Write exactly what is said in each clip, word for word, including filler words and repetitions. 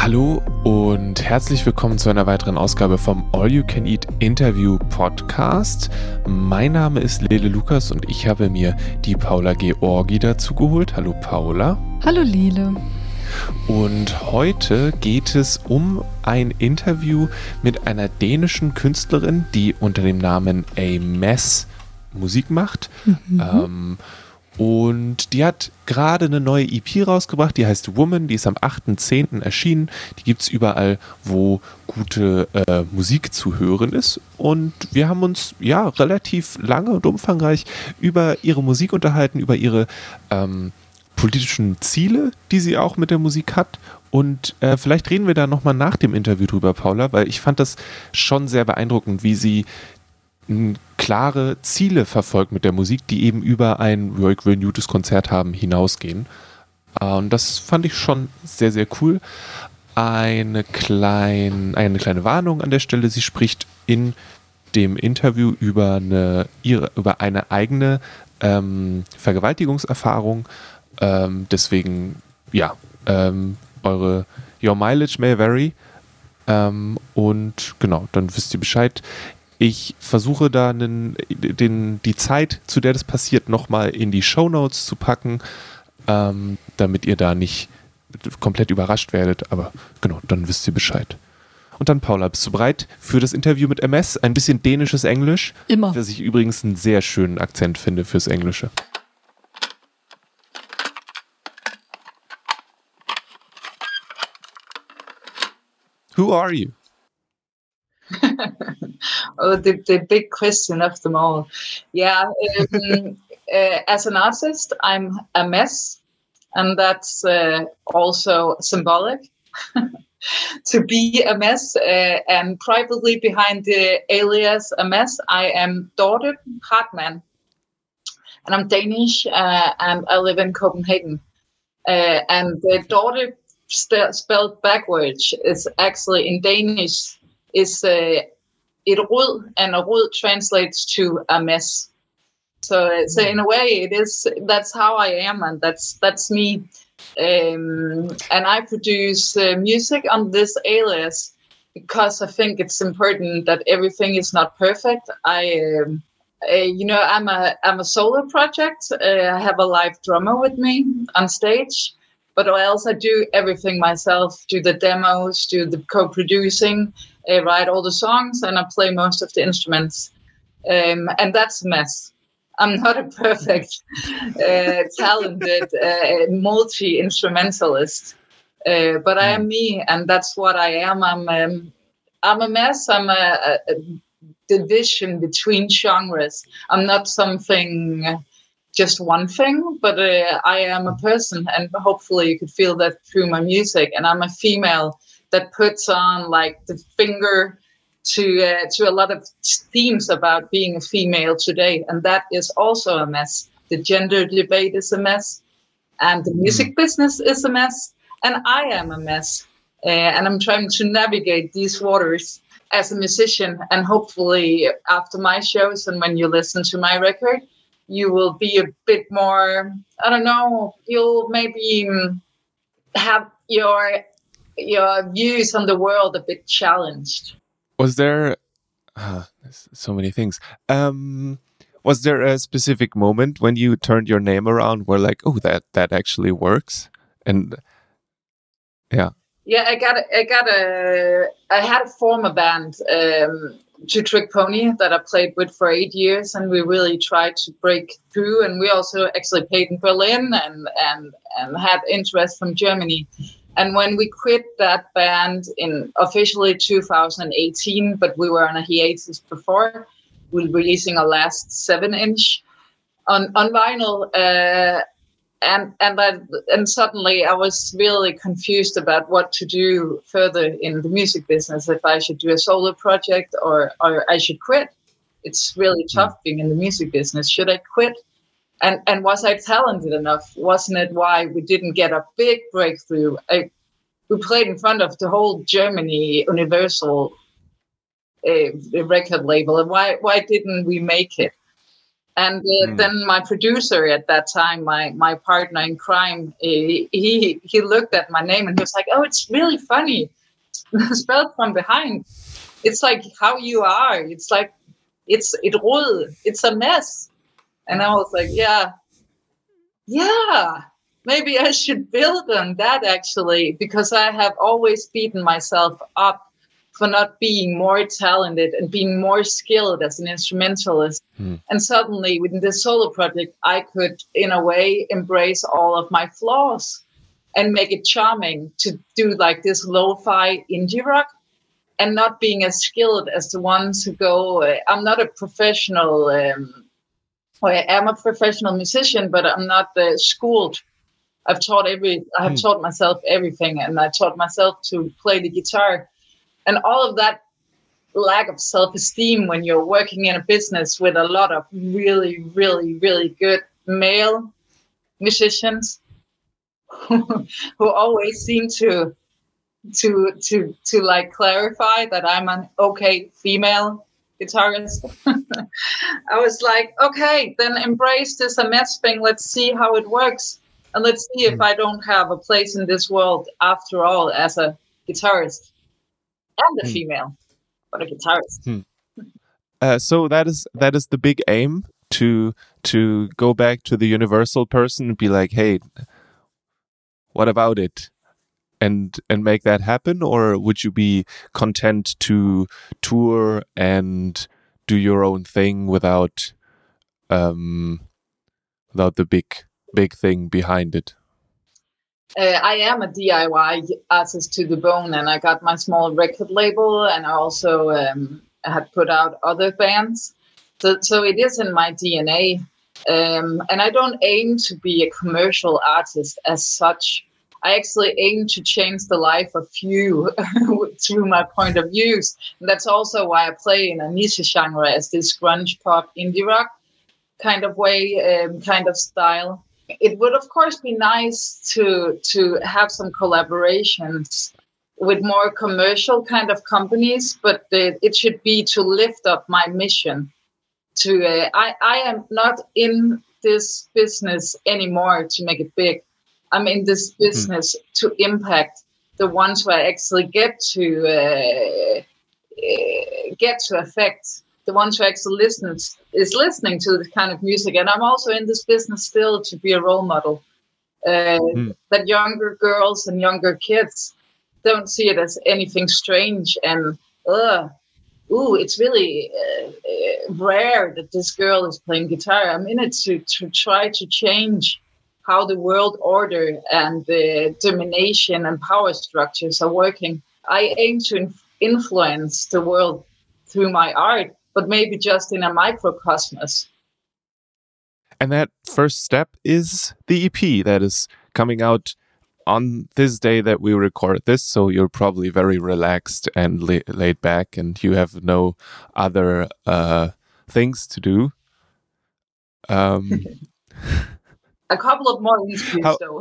Hallo und herzlich willkommen zu einer weiteren Ausgabe vom All You Can Eat Interview Podcast. Mein Name ist Lele Lukas und ich habe mir die Paula Georgi dazu geholt. Hallo Paula. Hallo Lele. Und heute geht es um ein Interview mit einer dänischen Künstlerin, die unter dem Namen A-Mess Musik macht. Mhm. Ähm, Und die hat gerade eine neue E P rausgebracht, die heißt Woman, die ist am achten zehnten erschienen. Die gibt es überall, wo gute äh, Musik zu hören ist. Und wir haben uns ja relativ lange und umfangreich über ihre Musik unterhalten, über ihre ähm, politischen Ziele, die sie auch mit der Musik hat. Und äh, vielleicht reden wir da nochmal nach dem Interview drüber, Paula, weil ich fand das schon sehr beeindruckend, wie sie klare Ziele verfolgt mit der Musik, die eben über ein ja, ich will ein gutes Konzert haben hinausgehen. Und das fand ich schon sehr, sehr cool. Eine, klein, eine kleine Warnung an der Stelle. Sie spricht in dem Interview über eine, ihre, über eine eigene ähm, Vergewaltigungserfahrung. Ähm, deswegen, ja, ähm, eure Your Mileage may vary. Ähm, und genau, dann wisst ihr Bescheid. Ich versuche da einen, den, die Zeit, zu der das passiert, nochmal in die Shownotes zu packen, ähm, damit ihr da nicht komplett überrascht werdet. Aber genau, dann wisst ihr Bescheid. Und dann, Paula, bist du bereit für das Interview mit M S? Ein bisschen dänisches Englisch. Immer. Was ich übrigens einen sehr schönen Akzent finde fürs Englische. Who are you? Oh, the, the big question of them all. Yeah, um, uh, as an artist, I'm a mess, and that's uh, also symbolic to be a mess. Uh, and privately behind the alias a mess, I am Dorte Hartmann, and I'm Danish, uh, and I live in Copenhagen. Uh, and the Dorte st- spelled backwards is actually in Danish is uh, et rod, and a rod translates to a mess. So, so in a way, it is. That's how I am, and that's that's me. Um, and I produce uh, music on this alias because I think it's important that everything is not perfect. I, um, uh, you know, I'm a I'm a solo project. Uh, I have a live drummer with me on stage, but else I do everything myself. Do the demos, do the co-producing. I write all the songs and I play most of the instruments. Um, and that's a mess. I'm not a perfect, uh, talented, uh, multi-instrumentalist. Uh, but I am me, and that's what I am. I'm, um, I'm a mess. I'm a, a division between genres. I'm not something, just one thing, but uh, I am a person, and hopefully you could feel that through my music. And I'm a female that puts on like the finger to uh, to a lot of themes about being a female today, and that is also a mess. The gender debate is a mess, and the music mm. business is a mess, and I am a mess. Uh, and I'm trying to navigate these waters as a musician, and hopefully after my shows and when you listen to my record, you will be a bit more, I don't know, you'll maybe have your your views on the world a bit challenged. Was there uh, so many things? Um, was there a specific moment when you turned your name around where like, oh, that that actually works? And yeah, yeah, I got a, I got a I had a former band, um, Two Trick Pony, that I played with for eight years, and we really tried to break through. And we also actually played in Berlin and and and had interest from Germany. And when we quit that band in officially two thousand eighteen, but we were on a hiatus before, we were releasing our last seven inch on, on vinyl. Uh, and and I, and suddenly I was really confused about what to do further in the music business, if I should do a solo project or, or I should quit. It's really tough being in the music business. Should I quit? And and was I talented enough? Wasn't it why we didn't get a big breakthrough? I, we played in front of the whole Germany Universal uh, record label, and why why didn't we make it? And uh, Mm. then my producer at that time, my my partner in crime, he, he he looked at my name and he was like, "Oh, it's really funny, spelled from behind. It's like how you are. It's like it's it rod. It's a mess." And I was like, "Yeah, yeah. Maybe I should build on that actually, because I have always beaten myself up for not being more talented and being more skilled as an instrumentalist." Hmm. And suddenly, within this solo project, I could, in a way, embrace all of my flaws and make it charming to do like this lo-fi indie rock, and not being as skilled as the ones who go. Uh, I'm not a professional. Um, well, I am a professional musician, but I'm not uh, schooled. I've taught every. I have Hmm. taught myself everything, and I taught myself to play the guitar. And all of that lack of self-esteem when you're working in a business with a lot of really, really, really good male musicians who always seem to to to to like clarify that I'm an okay female guitarist. I was like, okay, then embrace this M S thing. Let's see how it works, and let's see if I don't have a place in this world after all as a guitarist. And a Hmm. female, but a guitarist. Hmm. Uh, so that is that is the big aim, to to go back to the universal person and be like, hey, what about it, and and make that happen? Or would you be content to tour and do your own thing without um without the big big thing behind it? Uh, I am a D I Y artist to the bone, and I got my small record label, and I also um, had put out other bands. So, so it is in my D N A. Um, and I don't aim to be a commercial artist as such. I actually aim to change the life of few through my point of views. And that's also why I play in a niche genre as this grunge pop indie rock kind of way, um, kind of style. It would, of course, be nice to to have some collaborations with more commercial kind of companies, but it, it should be to lift up my mission. To uh, I, I am not in this business anymore to make it big. I'm in this business mm. to impact the ones who I actually get to uh, uh, get to affect. The ones who actually listens is listening to this kind of music. And I'm also in this business still to be a role model. Uh, mm. That younger girls and younger kids don't see it as anything strange and, uh, ooh, it's really uh, uh, rare that this girl is playing guitar. I'm in it to, to try to change how the world order and the domination and power structures are working. I aim to inf- influence the world through my art, but maybe just in a microcosmos. And that first step is the E P that is coming out on this day that we record this. So you're probably very relaxed and la- laid back, and you have no other uh, things to do. Um, a couple of more interviews, how, though.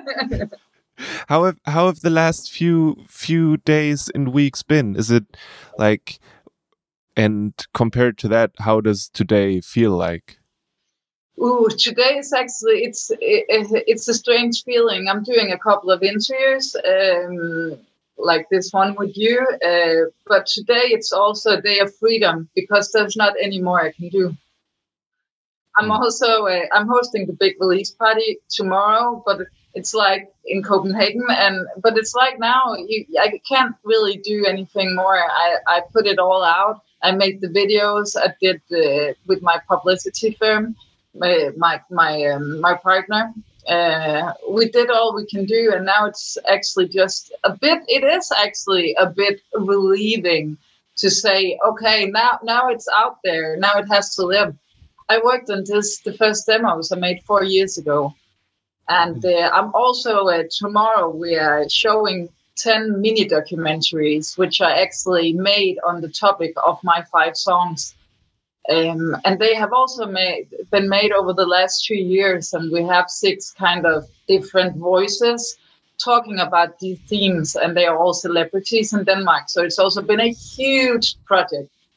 how have how have the last few few days and weeks been? Is it like? And compared to that, how does today feel like? Ooh, today is actually, it's it, it's a strange feeling. I'm doing a couple of interviews, um, like this one with you. Uh, but today it's also a day of freedom because there's not any more I can do. I'm mm. also, uh, I'm hosting the big release party tomorrow, but it's like in Copenhagen. And, but it's like now, you, I can't really do anything more. I, I put it all out. I made the videos. I did uh, with my publicity firm, my my my, um, my partner. Uh, we did all we can do, and now it's actually just a bit. It is actually a bit relieving to say, okay, now now it's out there. Now it has to live. I worked on this. The first demos I made four years ago, and uh, I'm also uh, tomorrow we are showing ten mini documentaries, which I actually made on the topic of my five songs. Um, and they have also made, been made over the last two years. And we have six kind of different voices talking about these themes. And they are all celebrities in Denmark. So it's also been a huge project.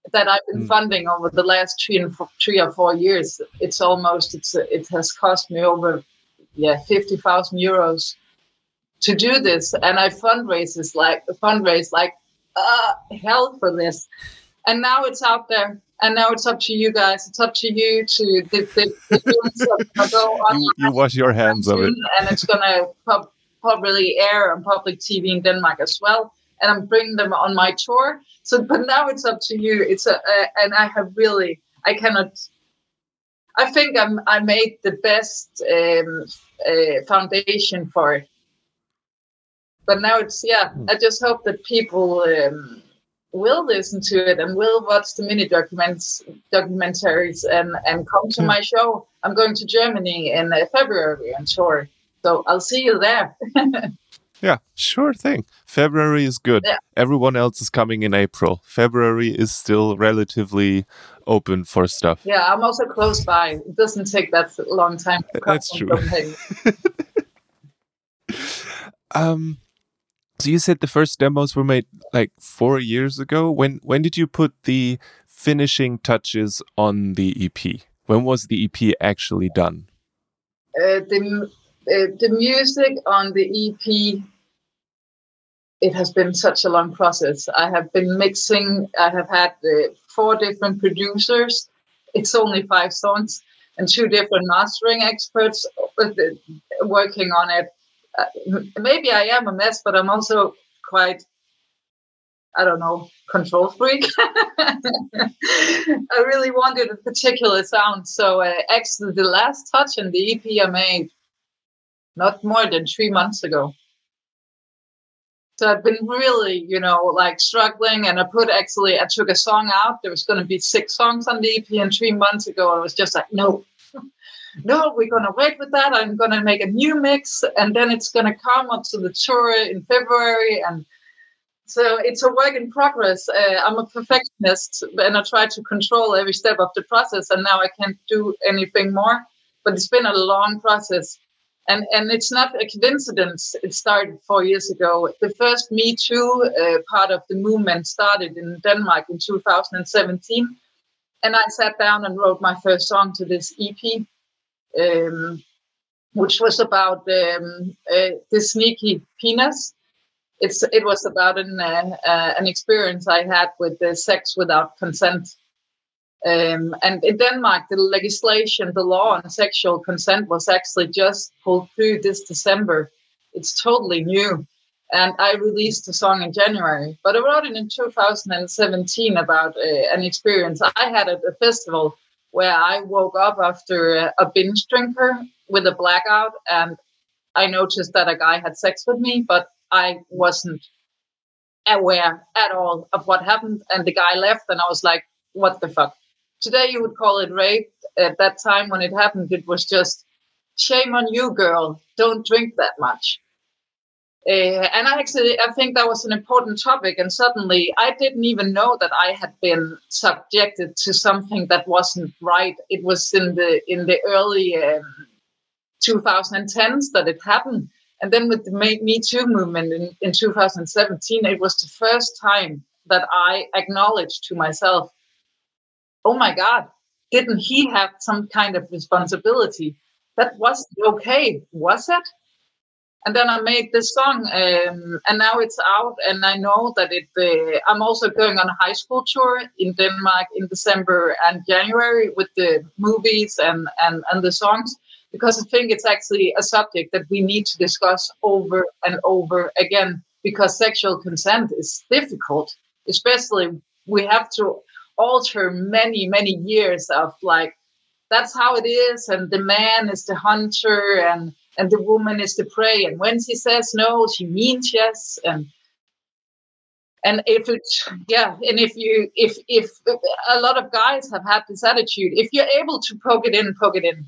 that I've been Mm. funding over the last three and four, three or four years. It's almost it's it has cost me over yeah fifty thousand euros to do this, and I fundraises like fundraise like uh, hell for this, and now it's out there. And now it's up to you guys. It's up to you to the the, the films are gonna go on You, you wash your hands of it. and it's gonna pub, probably air on public T V in Denmark as well. And I'm bringing them on my tour. So, but now it's up to you. It's a, a and I have really, I cannot. I think I'm. I made the best um, uh, foundation for it. But now it's yeah. Hmm. I just hope that people um, will listen to it and will watch the mini documents, documentaries, and and come to Yeah. my show. I'm going to Germany in uh, February on tour, so I'll see you there. Yeah, sure thing. February is good. Yeah. Everyone else is coming in April. February is still relatively open for stuff. Yeah, I'm also close by. It doesn't take that long time to come That's from true. Copenhagen. Um, so you said the first demos were made like four years ago. When when did you put the finishing touches on the E P? When was the E P actually done? Uh, the uh, the music on the E P, it has been such a long process. I have been mixing. I have had uh, four different producers. It's only five songs and two different mastering experts uh, working on it. Uh, maybe I am a mess, but I'm also quite, I don't know, control freak. I really wanted a particular sound. So uh, actually the last touch in the E P I made not more than three months ago. So I've been really, you know, like struggling, and I put actually, I took a song out. There was going to be six songs on the E P, and three months ago I was just like, no, no, we're going to wait with that. I'm going to make a new mix, and then it's going to come up to the tour in February. And so it's a work in progress. Uh, I'm a perfectionist, and I try to control every step of the process, and now I can't do anything more. But it's been a long process. And and it's not a coincidence. It started four years ago. The first Me Too uh, part of the movement started in Denmark in two thousand seventeen. And I sat down and wrote my first song to this E P, um, which was about um, uh, the sneaky penis. It's it was about an uh, uh, an experience I had with the sex without consent. Um, and in Denmark, the legislation, the law on sexual consent was actually just pulled through this December. It's totally new. And I released the song in January. But I wrote it in two thousand seventeen about uh, an experience I had at a festival where I woke up after a, a binge drinker with a blackout. And I noticed that a guy had sex with me, but I wasn't aware at all of what happened. And the guy left, and I was like, what the fuck? Today you would call it rape. At that time when it happened, it was just, shame on you, girl. Don't drink that much. Uh, and I actually, I think that was an important topic. And suddenly I didn't even know that I had been subjected to something that wasn't right. It was in the in the early um, twenty tens that it happened. And then with the Me Too movement in, in two thousand seventeen, it was the first time that I acknowledged to myself, oh my God, didn't he have some kind of responsibility? That wasn't okay, was it? And then I made this song, um, and now it's out, and I know that it. Uh, I'm also going on a high school tour in Denmark in December and January with the movies and, and, and the songs, because I think it's actually a subject that we need to discuss over and over again, because sexual consent is difficult, especially we have to alter many, many years of like, that's how it is, and the man is the hunter, and and the woman is the prey, and when she says no, she means yes, and and if it's yeah, and if you if if a lot of guys have had this attitude, if you're able to poke it in, poke it in,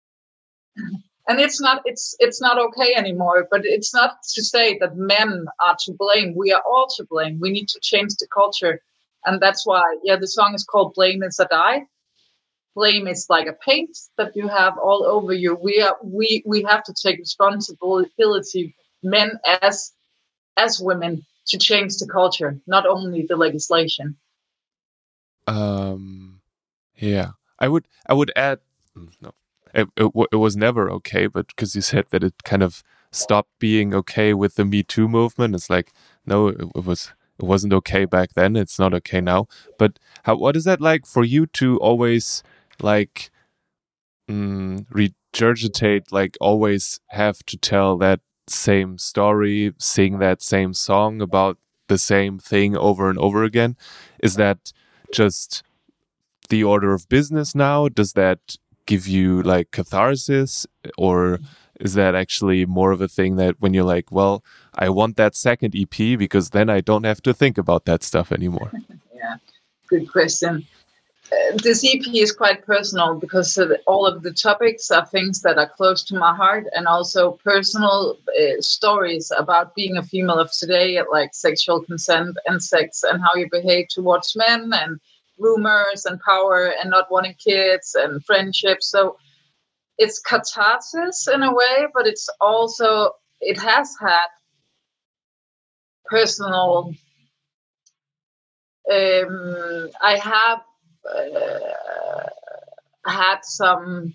and it's not it's it's not okay anymore. But it's not to say that men are to blame. We are all to blame. We need to change the culture, and that's why yeah, the song is called "Blame Is a Die." Blame is like a paint that you have all over you. We are we we have to take responsibility, men as as women, to change the culture, not only the legislation. Um, yeah, I would I would add no, it it, it was never okay, but because you said that it kind of stopped being okay with the Me Too movement, it's like no, it, it was it wasn't okay back then. It's not okay now. But how what is that like for you to always like mm, regurgitate, like always have to tell that same story, sing that same song about the same thing over and over again? Is that just the order of business now? Does that give you like catharsis, or is that actually more of a thing that when you're like, well, I want that second E P because then I don't have to think about that stuff anymore? Yeah, good question. Uh, this E P is quite personal because uh, all of the topics are things that are close to my heart, and also personal uh, stories about being a female of today, like sexual consent and sex and how you behave towards men and rumors and power and not wanting kids and friendships. So it's catharsis in a way, but it's also, it has had personal, um, I have uh, had some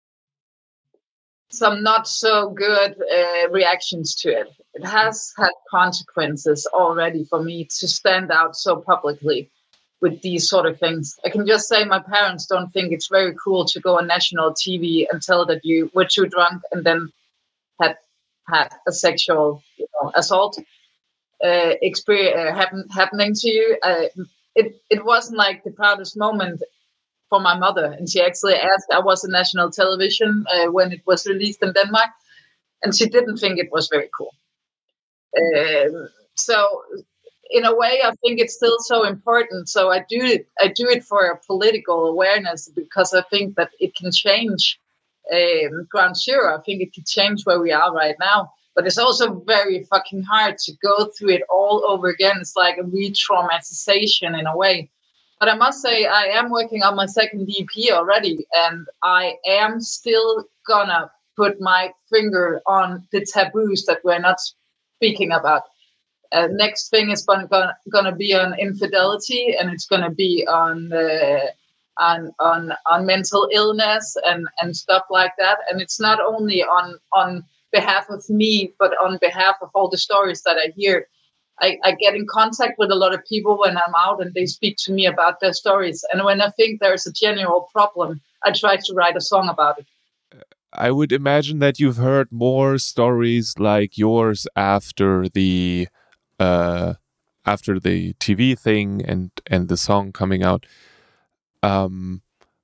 some not so good uh, reactions to it. It has had consequences already for me to stand out so publicly with these sort of things. I can just say my parents don't think it's very cool to go on national T V and tell that you were too drunk and then had had a sexual, you know, assault uh, experience uh, happen, happening to you. Uh, it it wasn't like the proudest moment for my mother, and she actually asked. I was on national television uh, when it was released in Denmark, and she didn't think it was very cool. Um, so. In a way, I think it's still so important. So I do it. I do it for a political awareness because I think that it can change um, Ground Zero. I think it can change where we are right now. But it's also very fucking hard to go through it all over again. It's like a re-traumatization in a way. But I must say, I am working on my second E P already, and I am still gonna put my finger on the taboos that we're not speaking about. Uh, next thing is going to be on infidelity, and it's going to be on, uh, on on on mental illness and, and stuff like that. And it's not only on on behalf of me, but on behalf of all the stories that I hear. I, I get in contact with a lot of people when I'm out, and they speak to me about their stories. And when I think there's a general problem, I try to write a song about it. I would imagine that you've heard more stories like yours after the Uh, after the T V thing and and the song coming out. Um,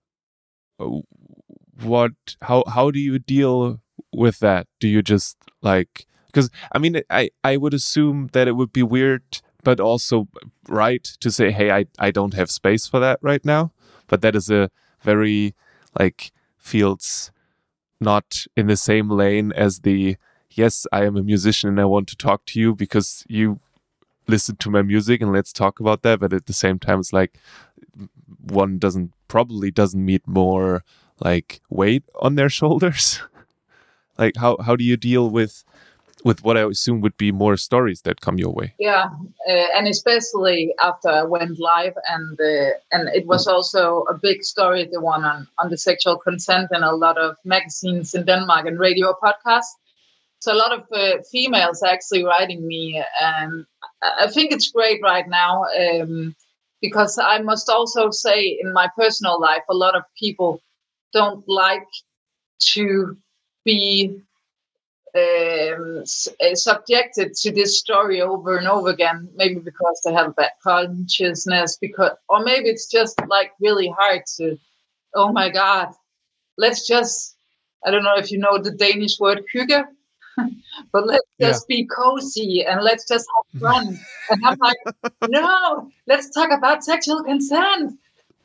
what? How how do you deal with that? Do you just like? Because I mean, I I would assume that it would be weird, but also right to say, hey, I I don't have space for that right now. But that is a very like feels not in the same lane as the yes, I am a musician and I want to talk to you because you listen to my music and let's talk about that. But at the same time, it's like one doesn't probably doesn't meet more like weight on their shoulders. Like how how do you deal with with what I assume would be more stories that come your way? Yeah, uh, and especially after I went live, and uh, and it was also a big story, the one on on the sexual consent, and a lot of magazines in Denmark and radio podcasts. So a lot of uh, females actually writing me, and I think it's great right now um, because I must also say in my personal life, a lot of people don't like to be um, subjected to this story over and over again, maybe because they have a bad consciousness, because, or maybe it's just like really hard to, oh my God, let's just, I don't know if you know the Danish word hygge, but let's just yeah. be cozy and let's just have fun. And I'm like, no, let's talk about sexual consent.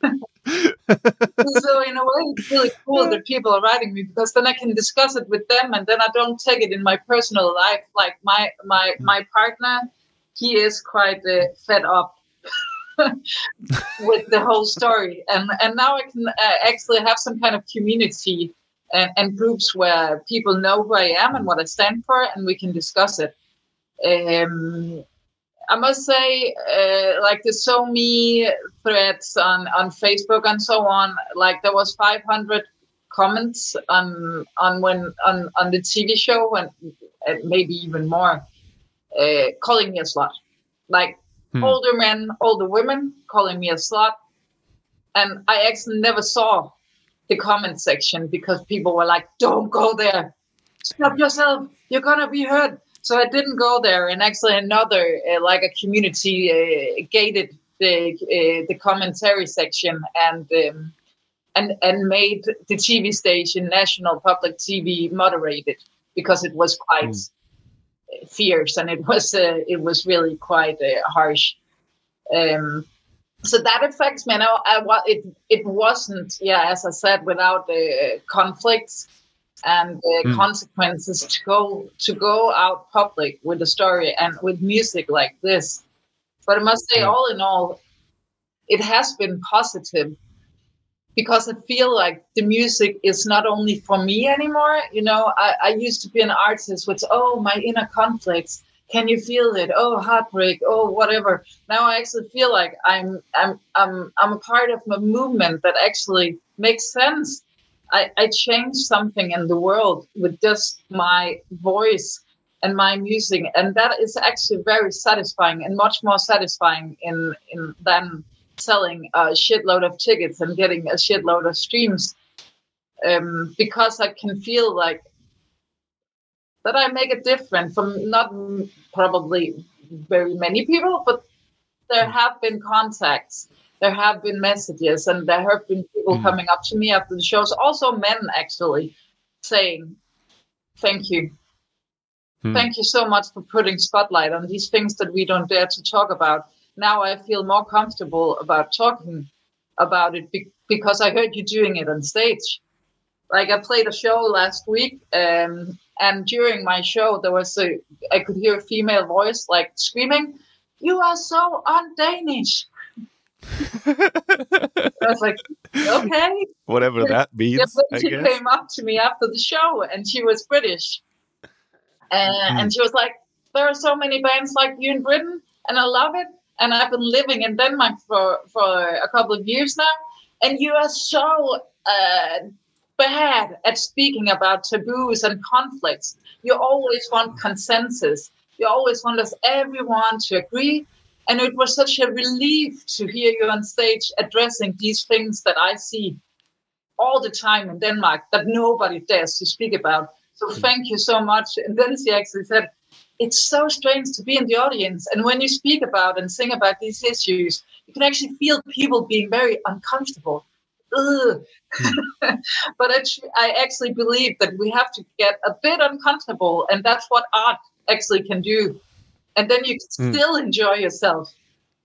So in a way, it's really cool that people are writing me, because then I can discuss it with them, and then I don't take it in my personal life. Like my my my partner, he is quite uh, fed up with the whole story, and and now I can uh, actually have some kind of community and, and groups where people know who I am and what I stand for, and we can discuss it. Um, I must say, uh, like the So Me threads on, on Facebook and so on, like there was five hundred comments on on when on, on the T V show, and, and maybe even more, uh, calling me a slut. Like hmm. older men, older women calling me a slut. And I actually never saw the comment section because people were like, don't go there. Stop yourself. You're going to be hurt. So I didn't go there. And actually another, uh, like a community, uh, gated the uh, the commentary section and um, and and made the T V station, National Public T V, moderated because it was quite mm. fierce and it was uh, it was really quite uh, harsh. Um, so that affects me. Now, I, it it wasn't, yeah, as I said, without the uh, conflicts and uh, mm. consequences to go to go out public with a story and with music like this. But I must say, mm. all in all, it has been positive because I feel like the music is not only for me anymore. You know, I, I used to be an artist with, oh, my inner conflicts. Can you feel it? Oh, heartbreak. Oh, whatever. Now I actually feel like I'm I'm I'm I'm a part of a movement that actually makes sense. I, I changed something in the world with just my voice and my music, and that is actually very satisfying and much more satisfying in in than selling a shitload of tickets and getting a shitload of streams, um, because I can feel like that I make a difference from not probably very many people, but there have been contacts, there have been messages, and there have been people mm. coming up to me after the shows, also men actually, saying, thank you. Mm. Thank you so much for putting spotlight on these things that we don't dare to talk about. Now I feel more comfortable about talking about it be- because I heard you doing it on stage. Like I played a show last week, um, and during my show, there was a, I could hear a female voice like screaming, "You are so un-Danish." I was like, okay. Whatever that means, yeah, but she I guess. came up to me after the show, and she was British. Uh, mm. And she was like, there are so many bands like you in Britain, and I love it. And I've been living in Denmark for, for a couple of years now. And you are so uh, bad at speaking about taboos and conflicts. You always want consensus. You always want us, everyone to agree. And it was such a relief to hear you on stage addressing these things that I see all the time in Denmark that nobody dares to speak about. So thank you so much. And then she actually said, it's so strange to be in the audience. And when you speak about and sing about these issues, you can actually feel people being very uncomfortable. Ugh. Mm. But I, I actually believe that we have to get a bit uncomfortable. And that's what art actually can do. And then you can mm. still enjoy yourself.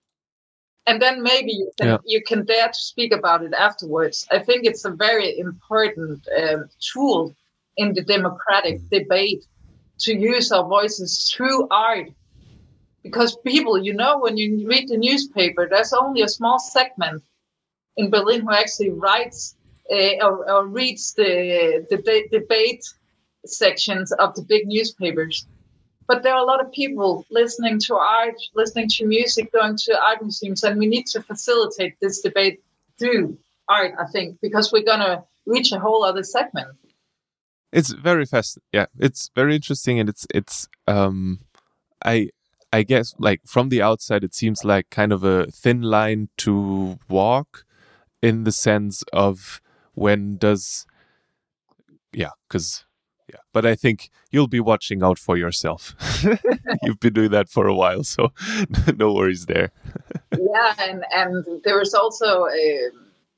And then maybe you can, yeah. you can dare to speak about it afterwards. I think it's a very important um, tool in the democratic debate to use our voices through art. Because people, you know, when you read the newspaper, there's only a small segment in Berlin who actually writes uh, or, or reads the, the de- debate sections of the big newspapers. But there are a lot of people listening to art, listening to music, going to art museums, and we need to facilitate this debate through art, I think, because we're going to reach a whole other segment. It's very fast. Yeah, it's very interesting, and it's it's. Um, I I guess like from the outside, it seems like kind of a thin line to walk, in the sense of when does, yeah, because yeah. But I think you'll be watching out for yourself. You've been doing that for a while, so no worries there. Yeah, and and there was also a.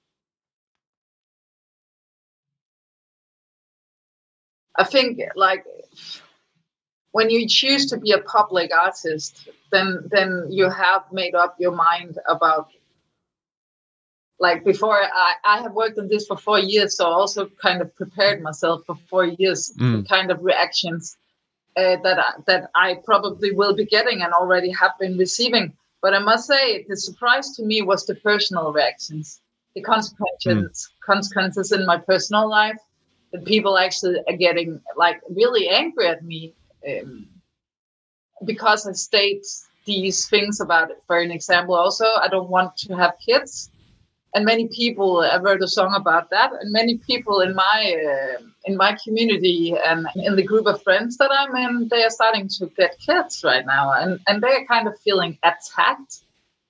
I think, like, when you choose to be a public artist, then then you have made up your mind about, like, before I, I have worked on this for four years, so I also kind of prepared myself for four years, mm. the kind of reactions uh, that, I, that I probably will be getting and already have been receiving. But I must say, the surprise to me was the personal reactions, the consequences, mm. consequences in my personal life. The people actually are getting like really angry at me um, because I state these things about it. For an example, also, I don't want to have kids. And many people, I wrote a song about that. And many people in my uh, in my community and in the group of friends that I'm in, they are starting to get kids right now, and and they're kind of feeling attacked.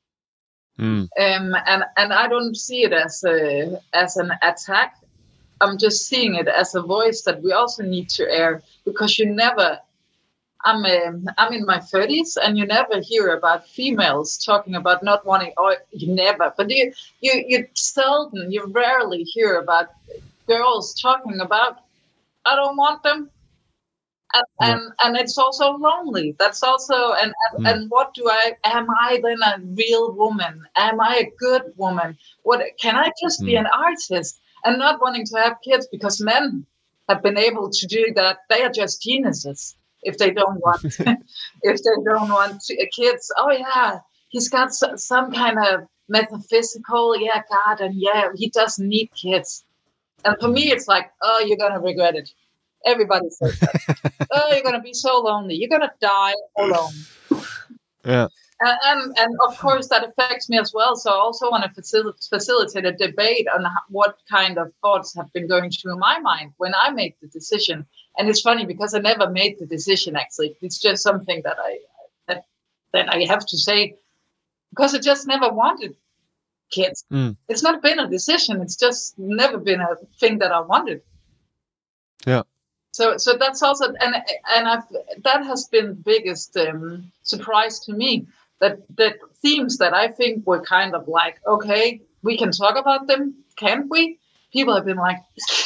Mm. Um, and and I don't see it as a as an attack. I'm just seeing it as a voice that we also need to air, because you never. I'm um, I'm in my thirties, and you never hear about females talking about not wanting. Or you never, but you you you seldom, you rarely hear about girls talking about, I don't want them, and Yeah. and, and it's also lonely. That's also and and, Mm. and what do I? Am I then a real woman? Am I a good woman? What can I just be Mm. an artist and not wanting to have kids because men have been able to do that? They are just geniuses. If they don't want, if they don't want to, uh, kids, oh yeah, he's got so, some kind of metaphysical, yeah, God, and yeah, he doesn't need kids. And for me, it's like, oh, you're gonna regret it. Everybody says that. Oh, you're gonna be so lonely. You're gonna die alone. Yeah. And, and and of course that affects me as well. So I also want to facil- facilitate a debate on how, what kind of thoughts have been going through my mind when I made the decision. And it's funny because I never made the decision. Actually, it's just something that I that, that I have to say, because I just never wanted kids. Mm. It's not been a decision. It's just never been a thing that I wanted. Yeah. So, so that's also, and and I've that has been the biggest um, surprise to me. That that themes that I think were kind of like, okay, we can talk about them, can't we? People have been like,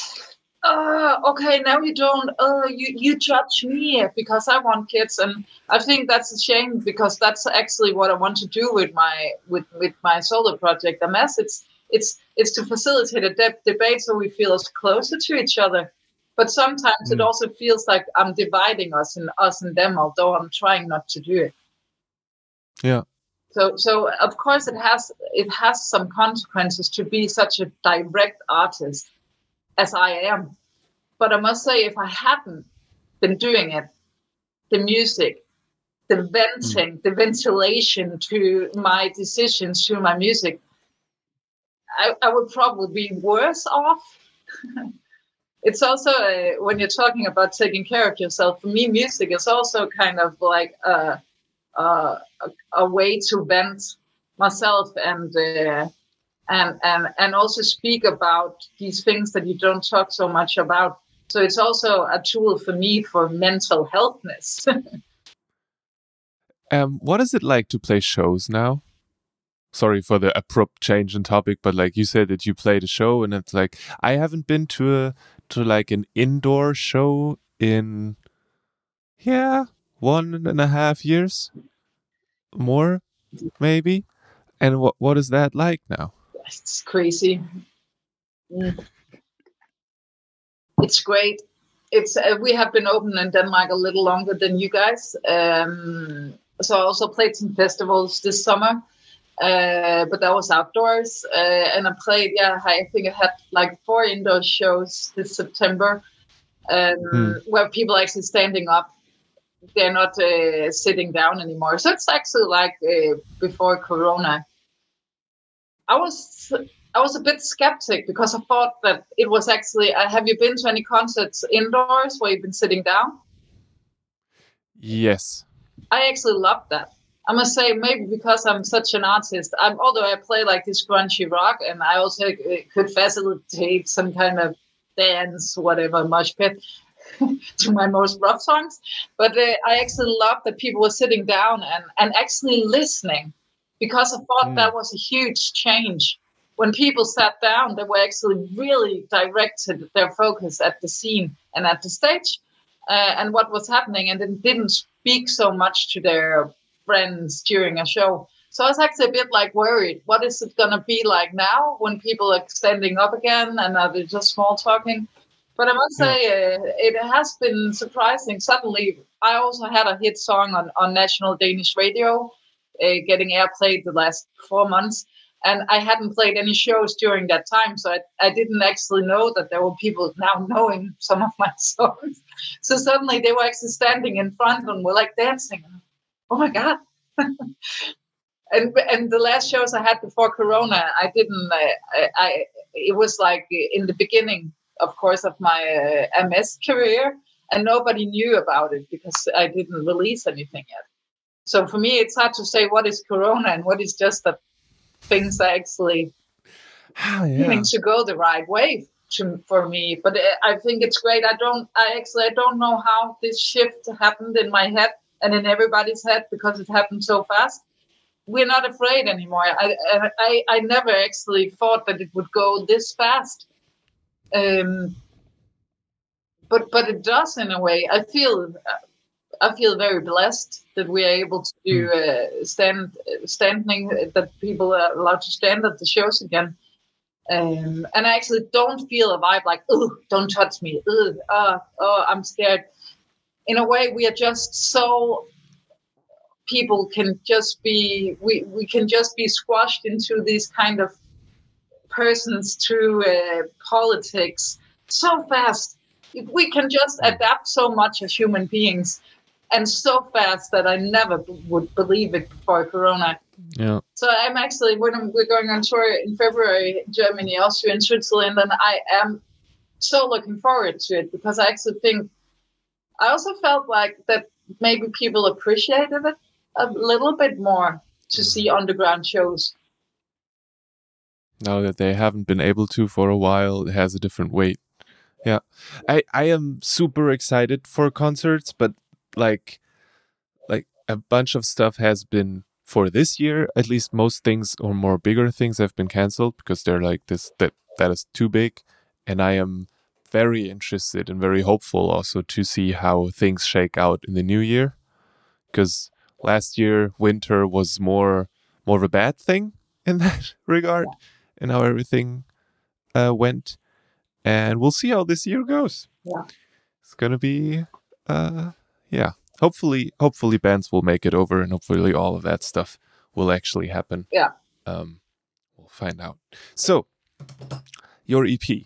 oh, okay, now you don't. Oh, you you judge me because I want kids, and I think that's a shame, because that's actually what I want to do with my with with my solo project, M S. It's it's it's to facilitate a de- debate so we feel us closer to each other. But sometimes Mm. it also feels like I'm dividing us and us and them, although I'm trying not to do it. Yeah. So, so of course it has it has some consequences to be such a direct artist as I am. But I must say, if I hadn't been doing it, the music, the venting, mm. the ventilation to my decisions, to my music, I, I would probably be worse off. It's also, uh, when you're talking about taking care of yourself, for me, music is also kind of like a, a, a, a way to vent myself and, uh, and and and also speak about these things that you don't talk so much about. So it's also a tool for me for mental healthness. um, what is it like to play shows now? Sorry for the abrupt change in topic, but like you said that you played a show, and it's like I haven't been to a to like an indoor show in yeah one and a half years, more maybe. And what what is that like now? It's crazy. Mm. It's great. It's uh, we have been open in Denmark a little longer than you guys. Um, so I also played some festivals this summer. Uh, but that was outdoors, uh, and I played. Yeah, I think I had like four indoor shows this September, um, hmm. where people are actually standing up. They're not uh, sitting down anymore. So it's actually like uh, before Corona. I was I was a bit skeptic because I thought that it was actually. Uh, have you been to any concerts indoors where you've been sitting down? Yes. I actually loved that. I must say, maybe because I'm such an artist, I'm, although I play like this grungy rock, and I also could facilitate some kind of dance, whatever, mosh pit to my most rough songs. But uh, I actually love that people were sitting down and, and actually listening, because I thought mm. that was a huge change. When people sat down, they were actually really directed their focus at the scene and at the stage uh, and what was happening, and it didn't speak so much to their friends during a show. So I was actually a bit like worried. What is it going to be like now when people are standing up again and are they just small talking? But I must yeah. say, uh, it has been surprising. Suddenly, I also had a hit song on, on national Danish radio, uh, getting airplayed the last four months. And I hadn't played any shows during that time. So I, I didn't actually know that there were people now knowing some of my songs. So suddenly they were actually standing in front and were like dancing. Oh my God, and and the last shows I had before Corona, I didn't. Uh, I, I it was like in the beginning, of course, of my uh, M S career, and nobody knew about it because I didn't release anything yet. So for me, it's hard to say what is Corona and what is just that things are actually Ah, yeah. beginning to go the right way to, for me. But I think it's great. I don't. I actually I don't know how this shift happened in my head and in everybody's head because it happened so fast. We're not afraid anymore. I I I never actually thought that it would go this fast. Um, but but it does in a way. I feel I feel very blessed that we are able to do uh, stand standing that people are allowed to stand at the shows again. Um, and I actually don't feel a vibe like, oh, don't touch me. Ugh, uh, oh, I'm scared. In a way, we are just so people can just be we, we can just be squashed into these kind of persons through uh, politics so fast. We can just adapt so much as human beings, and so fast that I never b- would believe it before Corona. Yeah. So I'm actually when I'm, we're going on tour in February, Germany, Austria, and Switzerland, and I am so looking forward to it because I actually think I also felt like that maybe people appreciated it a little bit more to see underground shows. Now that they haven't been able to for a while, it has a different weight. Yeah. I, I am super excited for concerts, but like like a bunch of stuff has been for this year, at least most things or more bigger things have been canceled because they're like this that that is too big. And I am very interested and very hopeful also to see how things shake out in the new year. Because last year winter was more more of a bad thing in that regard, and how everything uh, went. And we'll see how this year goes. Yeah. It's gonna be, uh, yeah. Hopefully, hopefully bands will make it over, and hopefully all of that stuff will actually happen. Yeah. Um, we'll find out. So, your E P.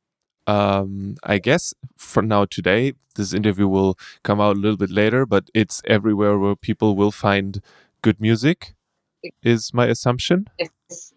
Um, I guess for now today, this interview will come out a little bit later, but it's everywhere where people will find good music, is my assumption. Yes.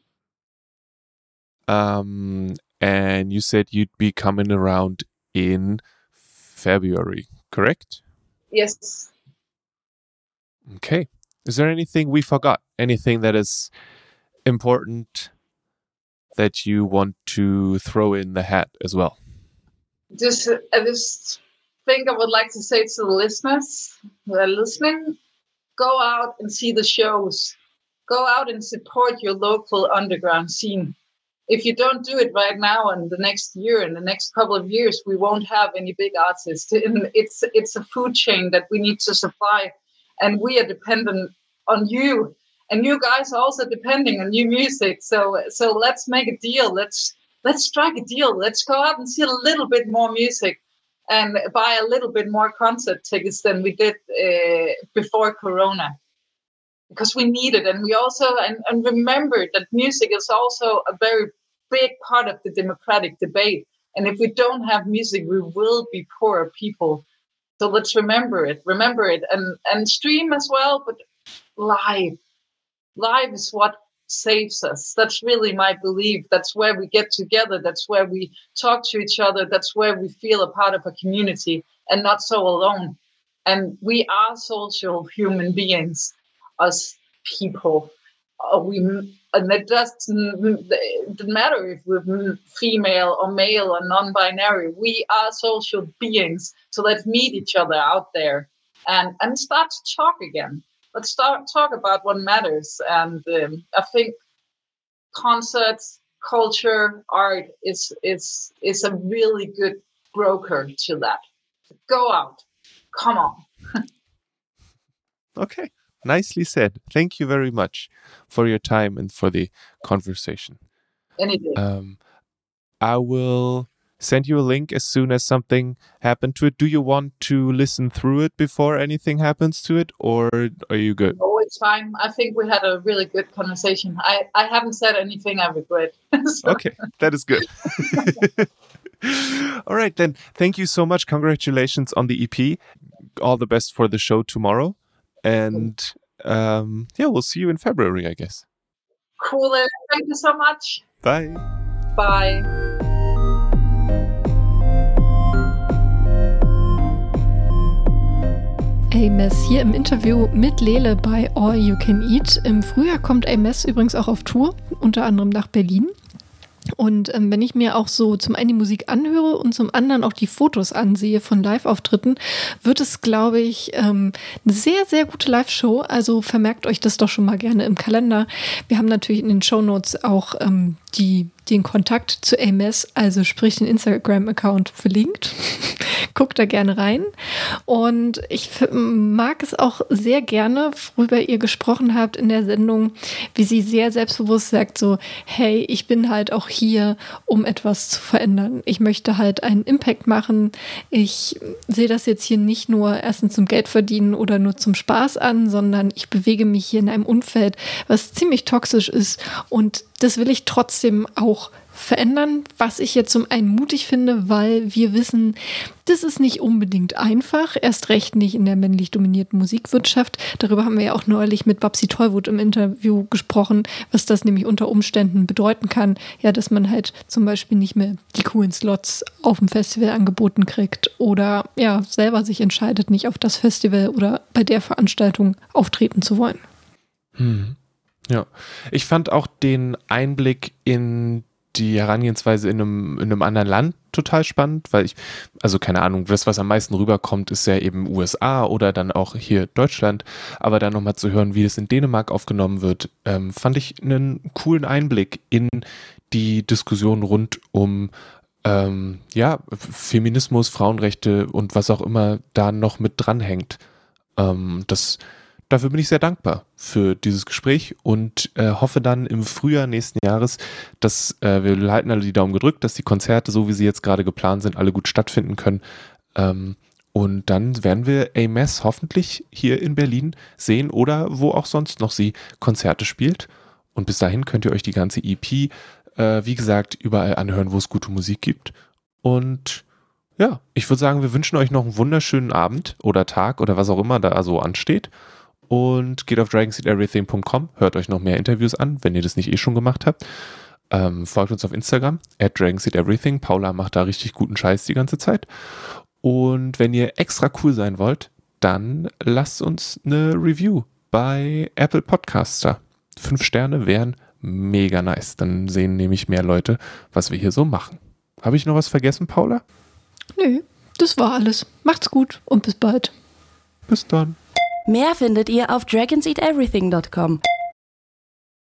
Um, and you said you'd be coming around in February, correct? Yes. Okay. Is there anything we forgot? Anything that is important that you want to throw in the hat as well? Just, I just think I would like to say to the listeners who are listening, go out and see the shows. Go out and support your local underground scene. If you don't do it right now and the next year and the next couple of years, we won't have any big artists. It's it's a food chain that we need to supply, and we are dependent on you. And you guys are also depending on new music. So so let's make a deal. Let's let's strike a deal. Let's go out and see a little bit more music and buy a little bit more concert tickets than we did uh, before Corona. Because we need it, and we also and, and remember that music is also a very big part of the democratic debate. And if we don't have music, we will be poorer people. So let's remember it, remember it, and and stream as well. But live, live is what saves us. That's really my belief. That's where we get together. That's where we talk to each other. That's where we feel a part of a community and not so alone. And we are social human beings. Us people, uh, we and it doesn't, it doesn't matter if we're female or male or non-binary. We are social beings, so let's meet each other out there and and start to talk again. Let's start talk about what matters. And um, I think concerts, culture, art is is is a really good broker to that. Go out, come on. Okay. Nicely said. Thank you very much for your time and for the conversation. Anything. Um, I will send you a link as soon as something happened to it. Do you want to listen through it before anything happens to it, or are you good? Oh, it's fine. I think we had a really good conversation. I, I haven't said anything I regret. So. Okay, that is good. All right, then. Thank you so much. Congratulations on the E P. All the best for the show tomorrow. And um, yeah, we'll see you in February, I guess. Cool. Thank you so much. Bye. Bye. A-Mess hier im Interview mit Lele bei All You Can Eat. Im Frühjahr kommt A-Mess übrigens auch auf Tour, unter anderem nach Berlin. Und ähm, wenn ich mir auch so zum einen die Musik anhöre und zum anderen auch die Fotos ansehe von Live-Auftritten, wird es, glaube ich, ähm, eine sehr, sehr gute Live-Show. Also vermerkt euch das doch schon mal gerne im Kalender. Wir haben natürlich in den Shownotes auch ähm, die, den Kontakt zu A-Mess, also sprich den Instagram-Account verlinkt. Guckt da gerne rein. Und ich f- mag es auch sehr gerne, worüber ihr gesprochen habt in der Sendung, wie sie sehr selbstbewusst sagt so, hey, ich bin halt auch hier, um etwas zu verändern. Ich möchte halt einen Impact machen. Ich sehe das jetzt hier nicht nur erstens zum Geld verdienen oder nur zum Spaß an, sondern ich bewege mich hier in einem Umfeld, was ziemlich toxisch ist, und das will ich trotzdem auch verändern, was ich jetzt zum einen mutig finde, weil wir wissen, das ist nicht unbedingt einfach, erst recht nicht in der männlich dominierten Musikwirtschaft. Darüber haben wir ja auch neulich mit Babsi Tollwood im Interview gesprochen, was das nämlich unter Umständen bedeuten kann, ja, dass man halt zum Beispiel nicht mehr die coolen Slots auf dem Festival angeboten kriegt oder ja, selber sich entscheidet, nicht auf das Festival oder bei der Veranstaltung auftreten zu wollen. Hm. Ja, ich fand auch den Einblick in die Herangehensweise in einem, in einem anderen Land total spannend, weil ich, also keine Ahnung, das, was am meisten rüberkommt, ist ja eben U S A oder dann auch hier Deutschland, aber dann nochmal zu hören, wie das in Dänemark aufgenommen wird, ähm, fand ich einen coolen Einblick in die Diskussion rund um ähm, ja, Feminismus, Frauenrechte und was auch immer da noch mit dranhängt. Ähm, das Dafür bin ich sehr dankbar für dieses Gespräch und äh, hoffe dann im Frühjahr nächsten Jahres, dass äh, wir halten alle die Daumen gedrückt, dass die Konzerte, so wie sie jetzt gerade geplant sind, alle gut stattfinden können. Ähm, und dann werden wir A-Mess hoffentlich hier in Berlin sehen oder wo auch sonst noch sie Konzerte spielt. Und bis dahin könnt ihr euch die ganze E P, äh, wie gesagt, überall anhören, wo es gute Musik gibt. Und ja, ich würde sagen, wir wünschen euch noch einen wunderschönen Abend oder Tag oder was auch immer da so ansteht. Und geht auf dragon seed everything dot com, hört euch noch mehr Interviews an, wenn ihr das nicht eh schon gemacht habt. Ähm, folgt uns auf Instagram, at dragon seed everything. Paula macht da richtig guten Scheiß die ganze Zeit. Und wenn ihr extra cool sein wollt, dann lasst uns eine Review bei Apple Podcasts da. Fünf Sterne wären mega nice. Dann sehen nämlich mehr Leute, was wir hier so machen. Habe ich noch was vergessen, Paula? Nö, das war alles. Macht's gut und bis bald. Bis dann. Mehr findet ihr auf dragon seed everything dot com.